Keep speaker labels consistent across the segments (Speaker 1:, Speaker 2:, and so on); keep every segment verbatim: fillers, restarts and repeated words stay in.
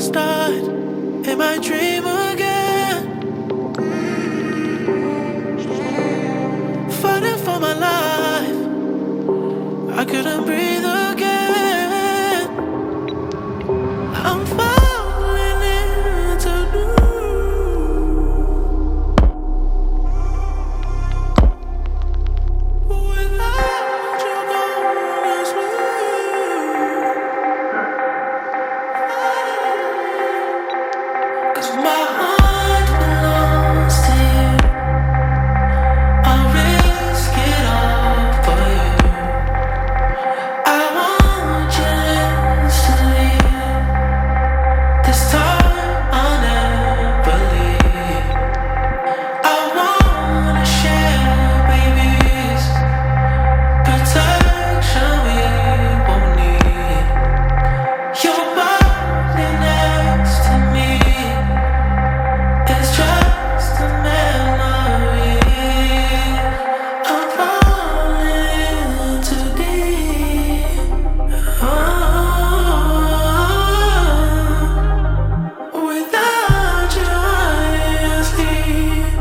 Speaker 1: start in my dream again. Fighting for my life, I couldn't breathe again. I'm falling into new. Without you gone to sleep, 'cause my heart belongs to you. I'll risk it all for you. I want you to leave. This time I'll never leave. I wanna share babies, protection we won't need. Your body next to me is just a memory. I'm falling too deep. Oh, without you I sleep.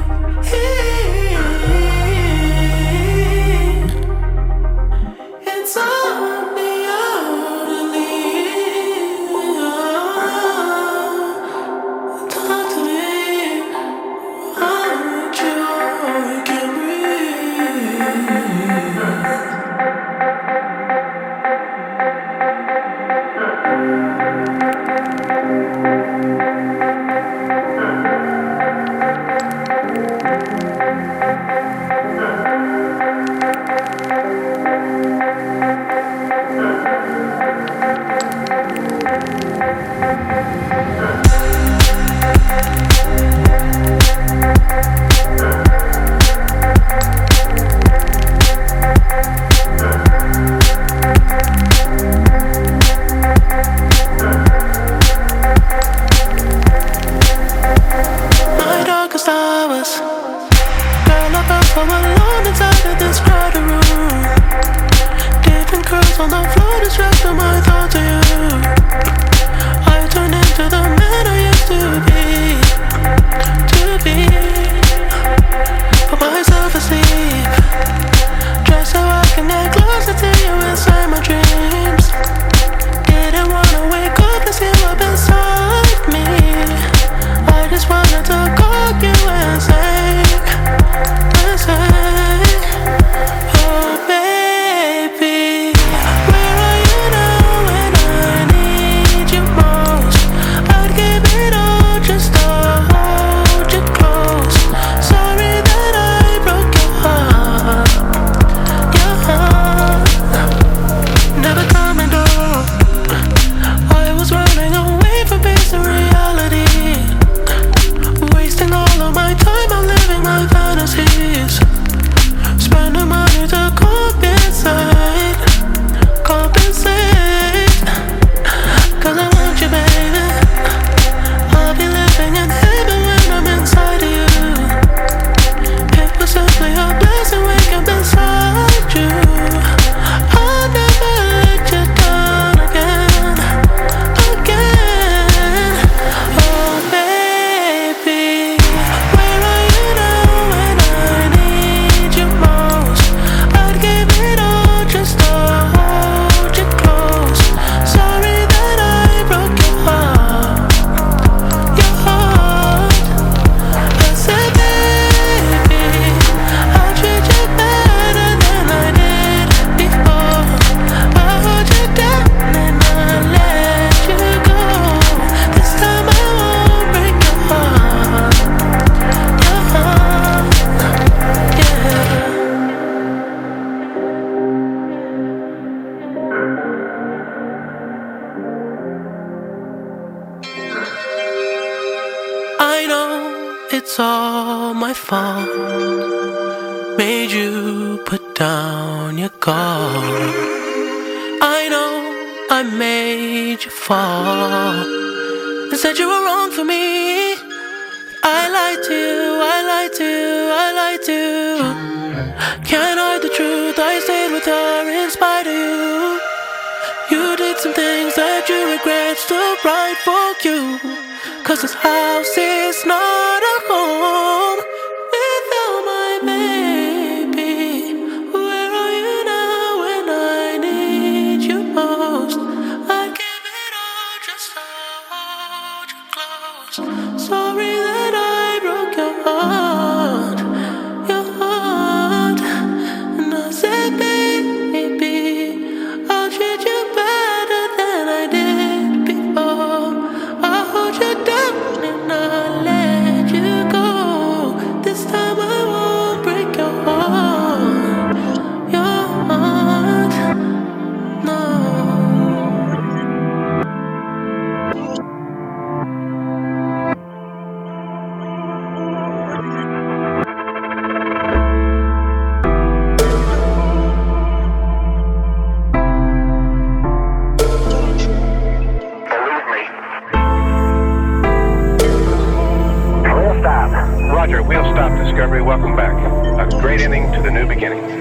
Speaker 1: It's on the leave. Talk to me. Want you, I can't breathe. My darkest hours, girl, I felt so alone inside of this crowded room. Different curls on the floor, distracting my thoughts of you. I turn into the man I used to be, to be. Put myself asleep, just so I can get closer to you inside my dreams. Didn't wanna wake up and see up inside me. I just wanted to call you and say, and say, oh baby, where are you now when I need you most? I'd give it all just to hold you close. Sorry that I broke your heart, your heart. Never coming down. I was running away from face and reality, wasting all of my time on living my fantasies. Spending money to compensate, compensate. 'Cause I want you, baby. I'll be living in heaven when I'm inside of you. It was simply a blessing waking up inside you. I'll never let you down again, again. Oh baby, where are you now when I need you most? I'd give it all just to hold you close. Sorry that I broke your heart, your heart. I said, baby, I'll treat you better than I did before. I'll hold you down and I'll let you go. This time I won't break your heart, your heart, yeah. I know it's all my fault. Made you put down your guard. I know I made you fall and said you were wrong for me. I lied to you, I lied to you, I lied to you. Can't hide the truth, I stayed with her in spite of you. You did some things that you regret, still right. fight for you. Cause this house is not a home without my baby. Where are you now when I need you most? I give it all just to hold you close. Sorry that I broke your heart, your heart. And I said, baby, I'll treat you better than I did before. I'll hold you down and I'll let you go. This time I won't break your heart, your heart, no.
Speaker 2: Roger, we'll stop Discovery. Welcome back. A great ending to the new beginning.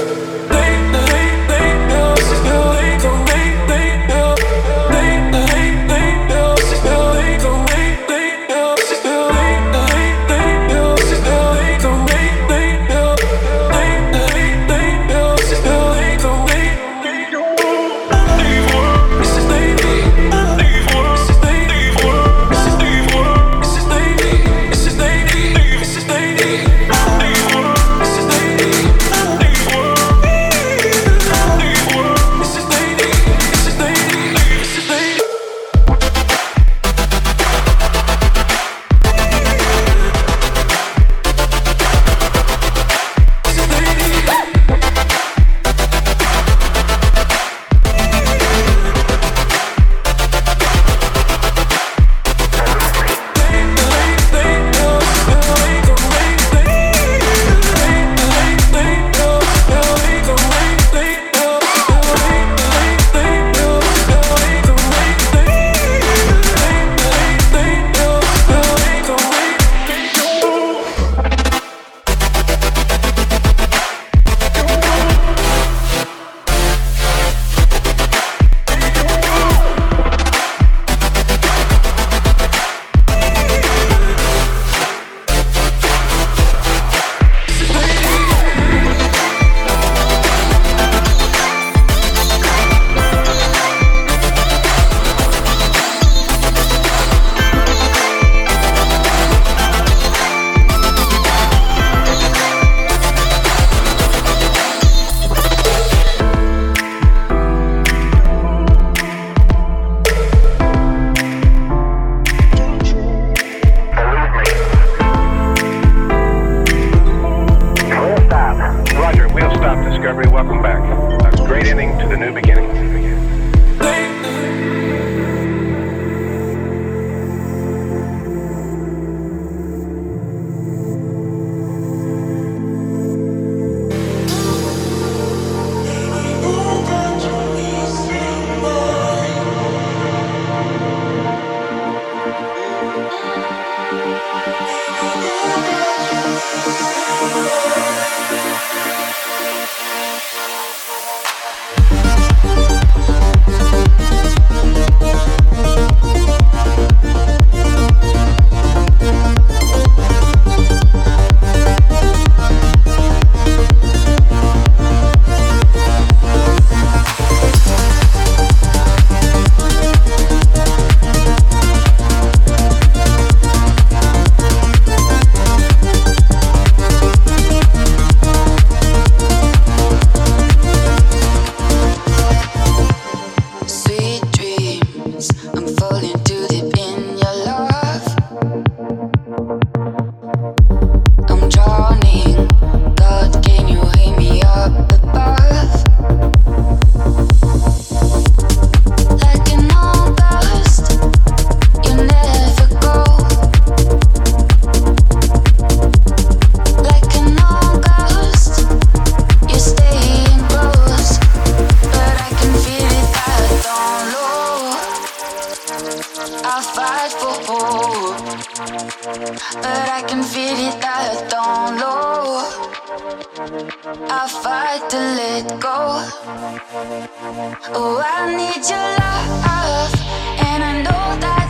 Speaker 2: Welcome back. A great ending to the new beginning.
Speaker 3: but I can feel it that down low. I fight to let go. Oh, I need your love, and I know that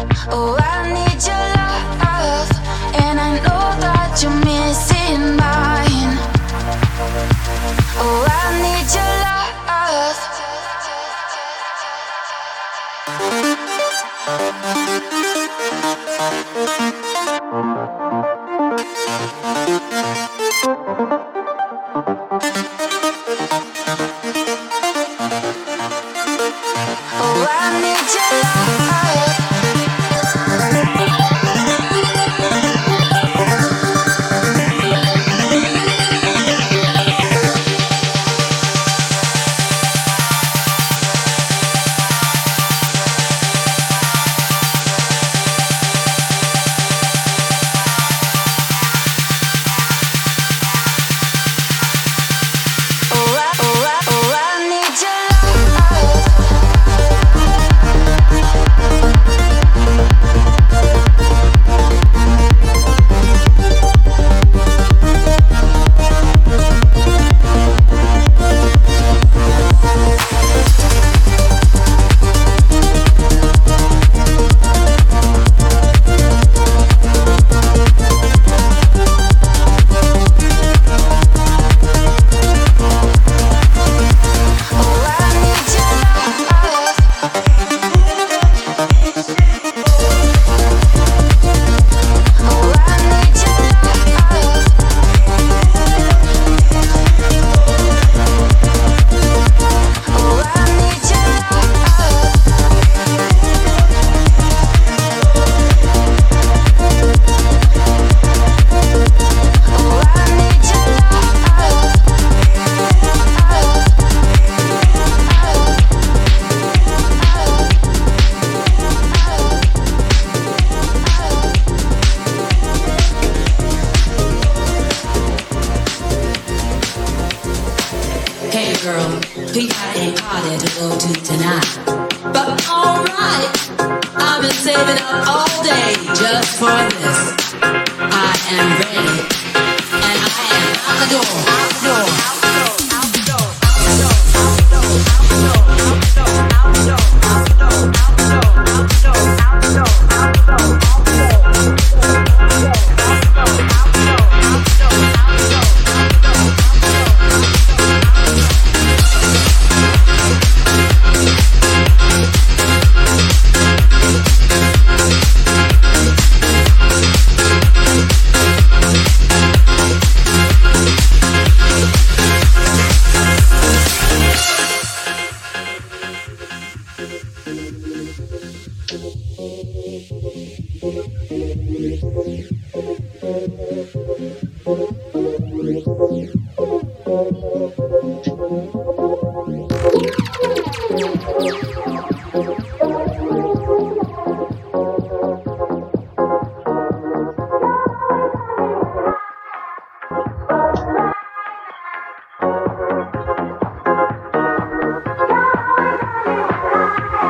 Speaker 3: Oh, I need your love, and I know that you're missing mine. Oh, I need your love. Oh, I need your love.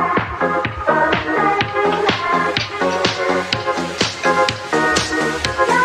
Speaker 1: Yeah.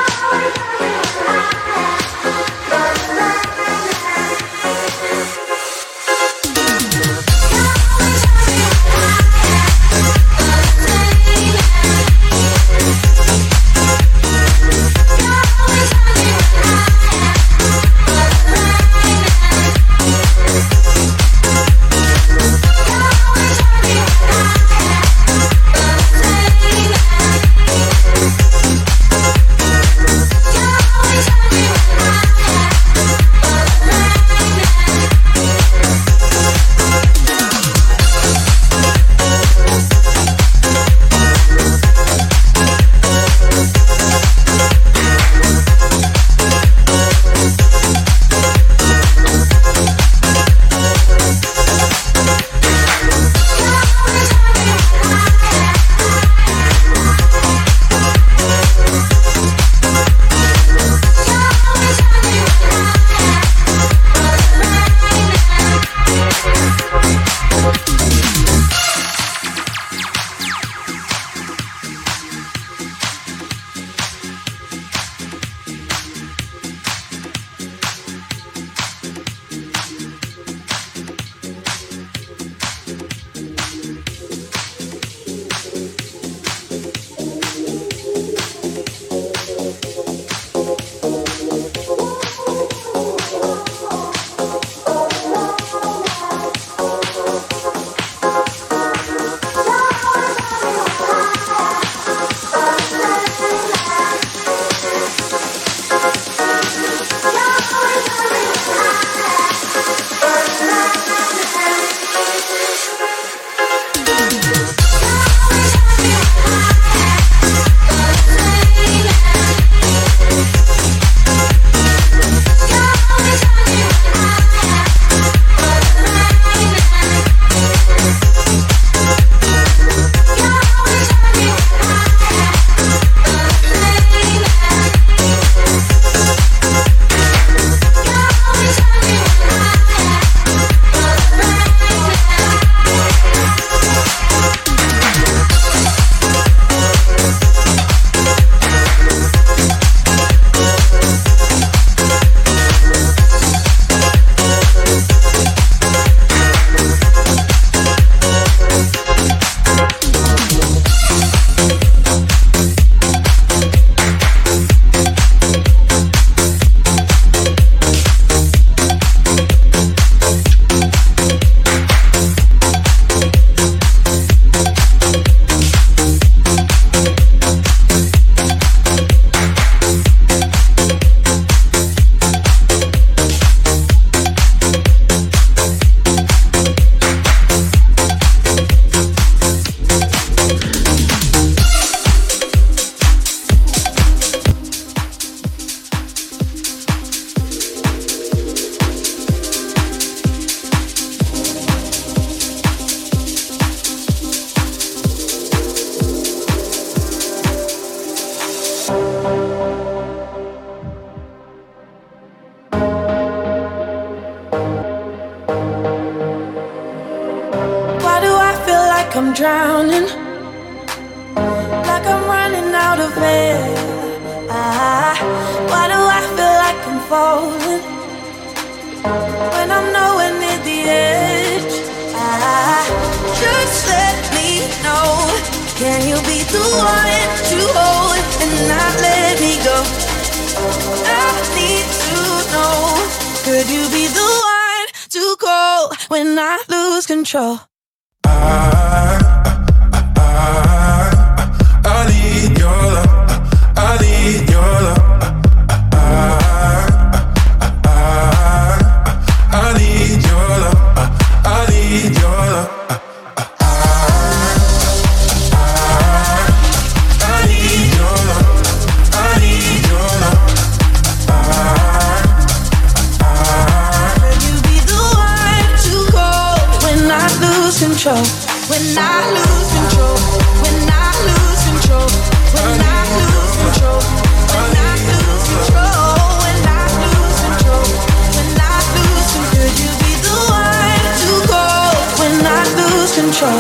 Speaker 4: drowning, like I'm running out of air. Ah, why do I feel like I'm falling when I'm nowhere near the edge? Ah, just let me know. Can you be the one to hold and not let me go? I need to know. Could you be the one to call when I lose control?
Speaker 5: I, I, I need your love. I need your love. I, I, I need your love. I need your love.
Speaker 4: Control. When I lose control, when I lose control, when I lose control, when I lose control, when I lose control, when I lose control, could you be the one to go when I lose control?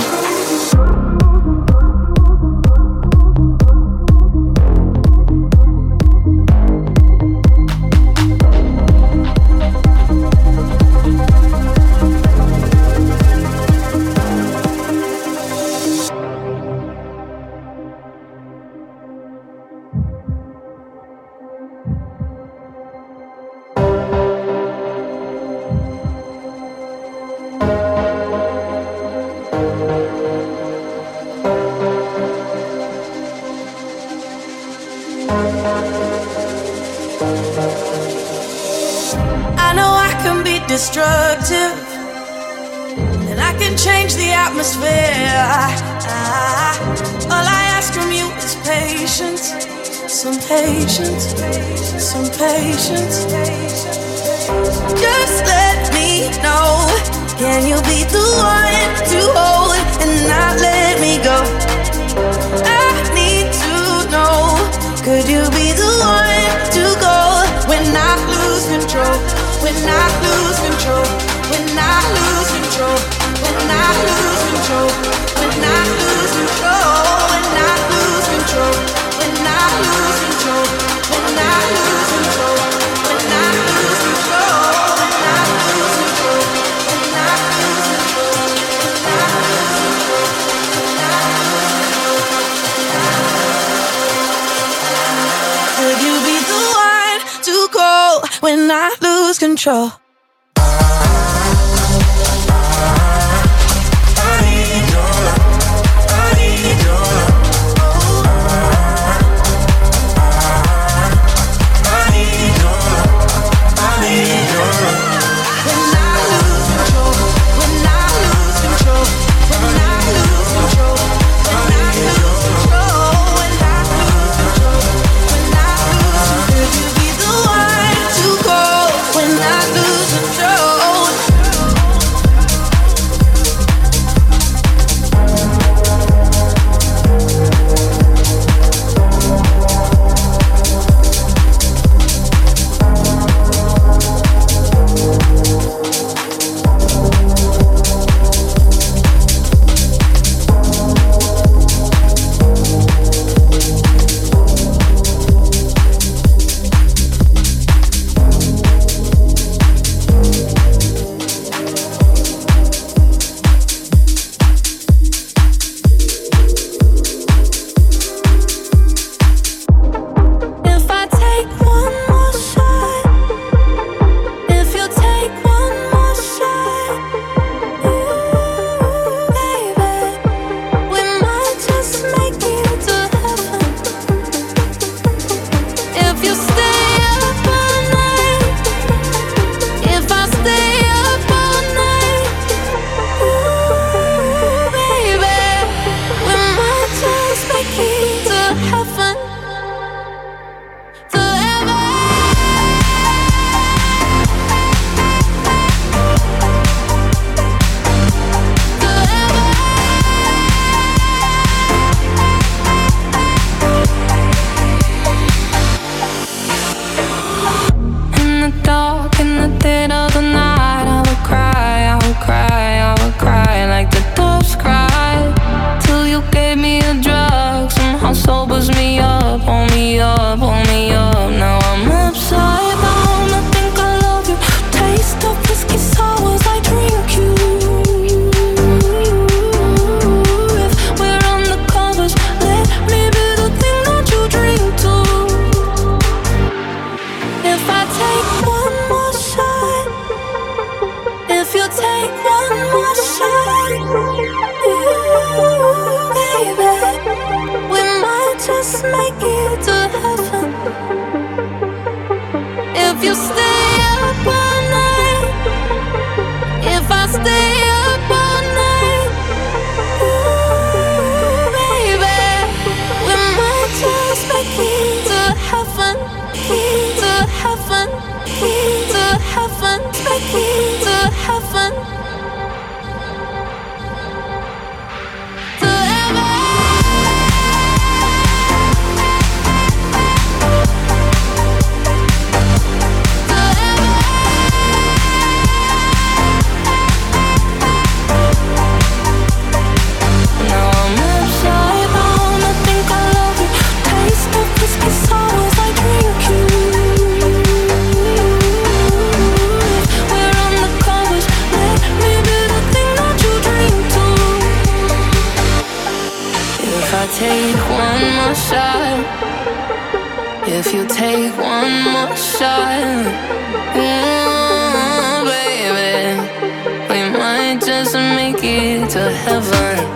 Speaker 4: Destructive, and I can change the atmosphere. Ah, all I ask from you is patience, some patience, some patience. Just let me know. Can you be the one to hold and not let me go? I need to know. Could you be the one to go when I lose control? When I lose control, when I lose control, when I lose control, when I lose control, when I lose control, when I lose control, when I lose control, when I lose control, when I lose control, when I lose control, when I lose control. Could you be the one to go when I lose control? When I lose
Speaker 6: if you take one more shot. Ooh, baby, we might just make it to heaven.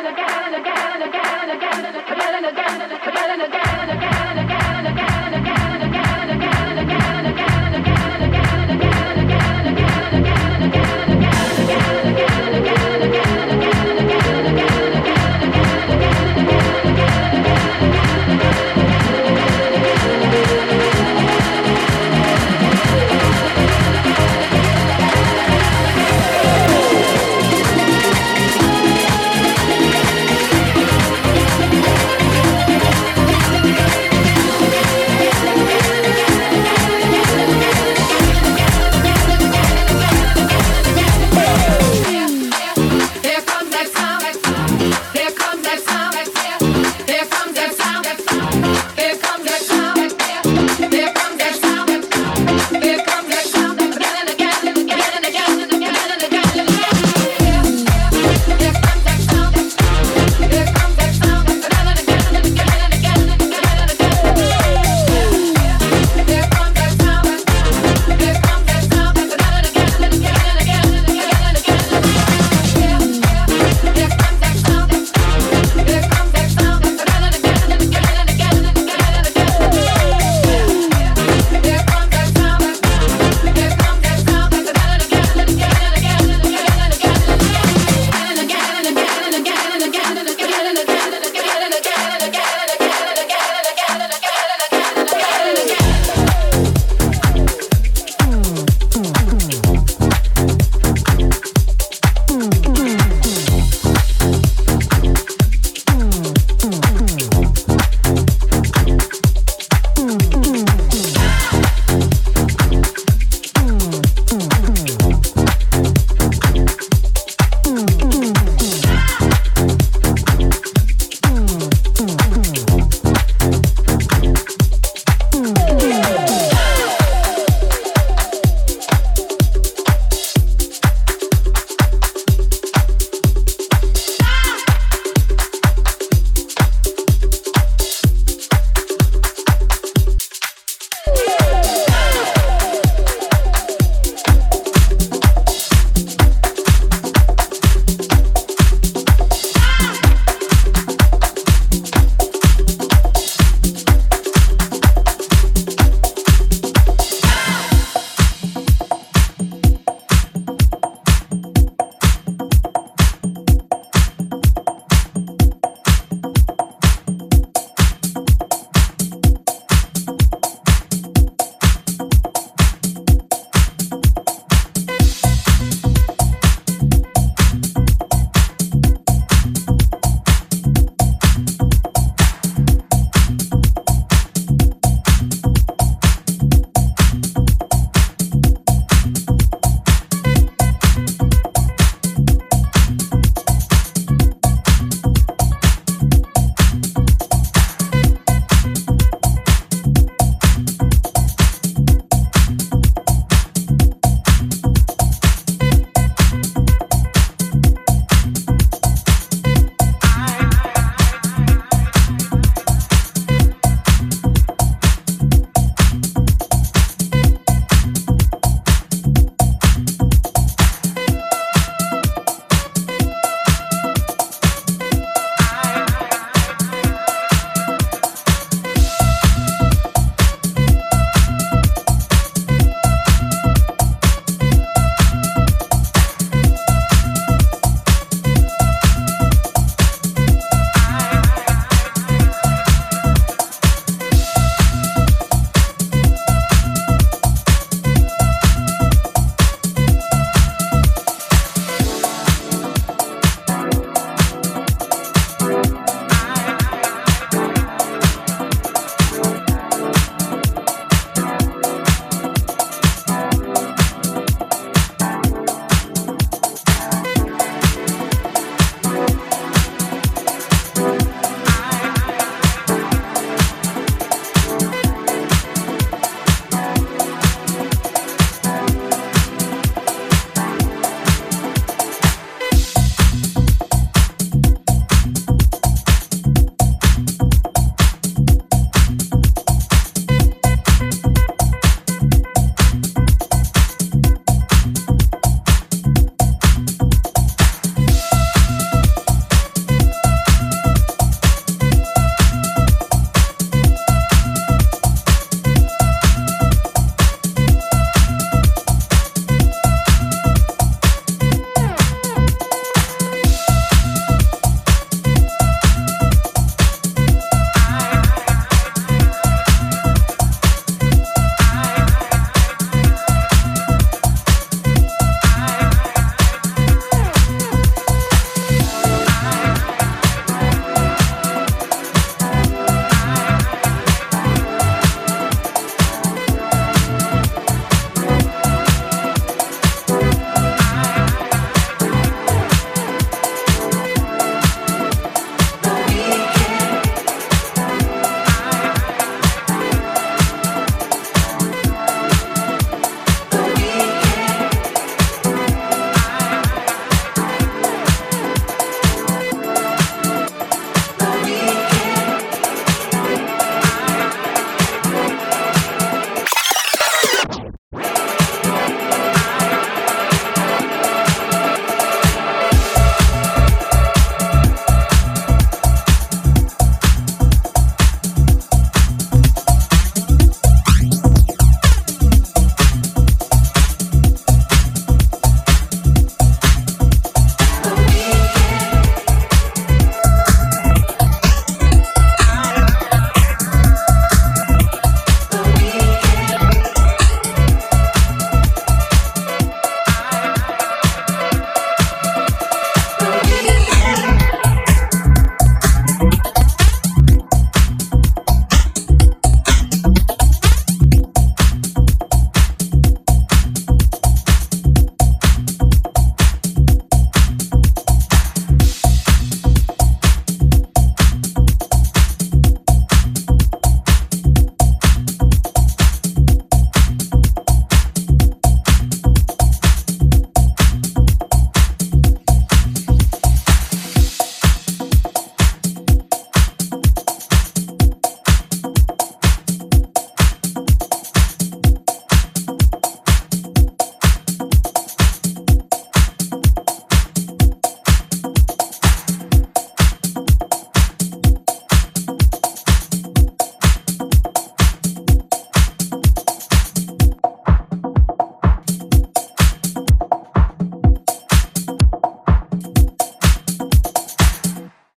Speaker 7: There comes that sound, there comes that sound,